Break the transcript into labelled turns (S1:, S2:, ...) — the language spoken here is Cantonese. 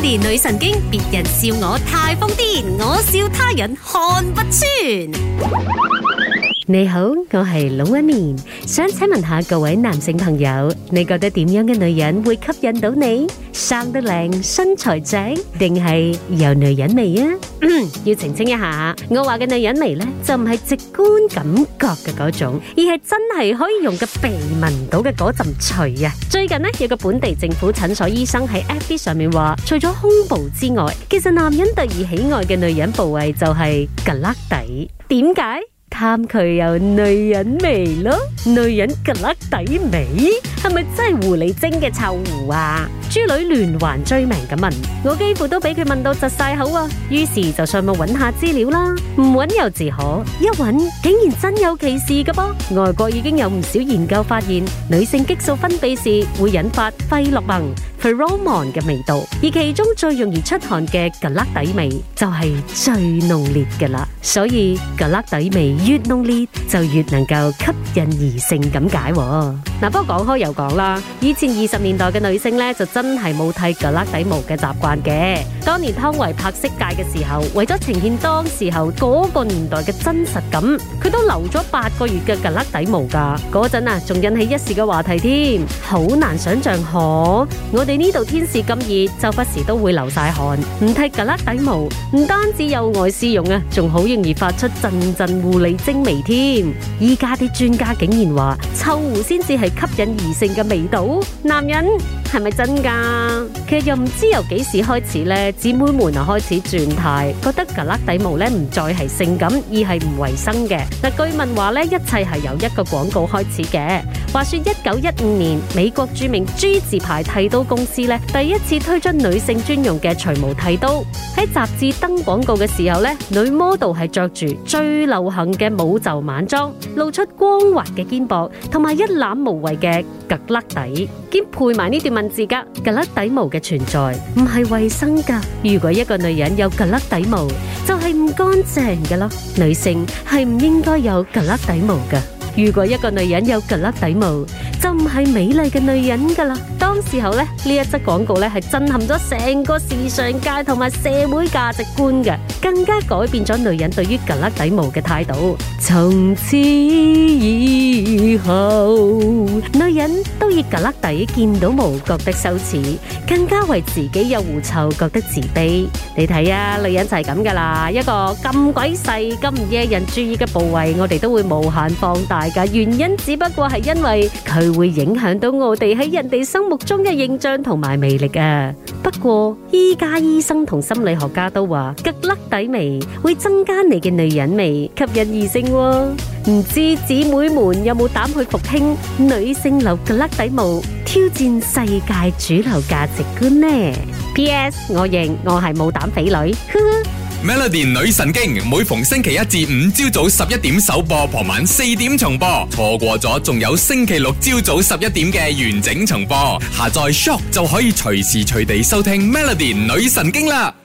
S1: Melody 女神經，別人笑我太瘋癲，我笑他人看不穿。你好，我係龍紋敏，想請問下各位男性朋友，你覺得點樣嘅女人會吸引到你？生得靚、身材正，定係有女人味啊？要澄清一下，我話嘅女人味呢，就唔係直觀感覺嘅嗰種，而係真係可以用個鼻聞到嘅嗰陣除啊！最近呢，有個本地政府診所醫生喺 FB 上面話，除咗胸部之外，其實男人第二喜愛嘅女人部位就係胳肋底。點解？貪佢有女人味咯，女人胳肋底味係咪真係狐狸精嘅臭狐啊？豬女連環追命咁問，我幾乎都俾佢問到窒晒口啊！於是就上網揾下資料啦，唔揾又自可，一揾竟然真有其事㗎噃！外國已經有唔少研究發現，女性激素分泌時會引發費洛蒙 pheromone 嘅味道，而其中最容易出汗嘅胳肋底味就係最濃烈㗎啦。所以胳肋底味越濃烈，就越能夠吸引異性咁解。嗱，不過講開又講啦，以前20年代嘅女性咧就真係冇剃胳肋底毛嘅習慣嘅。當年湯唯拍色戒嘅時候，為咗呈現當時候嗰個年代嘅真實感，佢都留咗8個月嘅胳肋底毛噶。嗰陣啊，仲引起一時嘅話題添，好難想象可我哋呢度天時咁熱，周不時都會流晒汗，唔剃胳肋底毛，唔單止有礙市容啊，仲好容易發出陣陣狐狸精味添。依家啲專家竟然話，臭狐先至係吸引異性嘅味道。男人係咪真噶？其實又唔知由幾時開始咧，姊妹們啊開始轉態，覺得胳肋底毛咧唔再係性感，而係唔衛生嘅。嗱，據聞話咧，一切係由一個廣告開始嘅。話說1915年，美國著名 G 字牌剃刀公司咧，第一次推出女性專用嘅除毛剃刀。喺雜誌登廣告嘅時候咧，女 model 係着住最流行嘅舞袖晚裝，露出光滑嘅肩膊，同埋一覽無遺嘅胳肋底，兼配埋呢段文字噶。胳肋底毛嘅存在唔係衛生噶，如果一個女人有胳肋底毛，就係唔乾淨噶咯。女性係唔應該有胳肋底毛噶。如果一個女人有胳肋底毛，就唔係美麗嘅女人噶啦。當時候咧，呢一則廣告咧係震撼咗成個時尚界同埋社會價值觀嘅，更加改變咗女人對於胳肋底毛嘅態度。從此以後，女人都以胳肋底見到毛覺得羞恥，更加為自己有狐臭覺得自卑。你睇啊，女人就係咁噶啦，一個咁鬼細、咁唔惹人注意嘅部位，我哋都會無限放大噶。原因只不過係因為佢會影響到我哋喺人哋心目中嘅形象同埋魅力啊。不過依家醫生同心理學家都話，胳肋底味會增加你嘅女人味，吸引異性喎。唔知姊妹們有冇膽去復興女性留胳肋底毛，挑戰世界主流價值觀呢？ PS 我認我係冇膽匪女。
S2: Melody 女神經每逢星期一至五朝早11點首播，傍晚4點重播。錯過咗仲有星期六朝早11點嘅完整重播。下載 Shock 就可以隨時隨地收聽 Melody 女神經啦。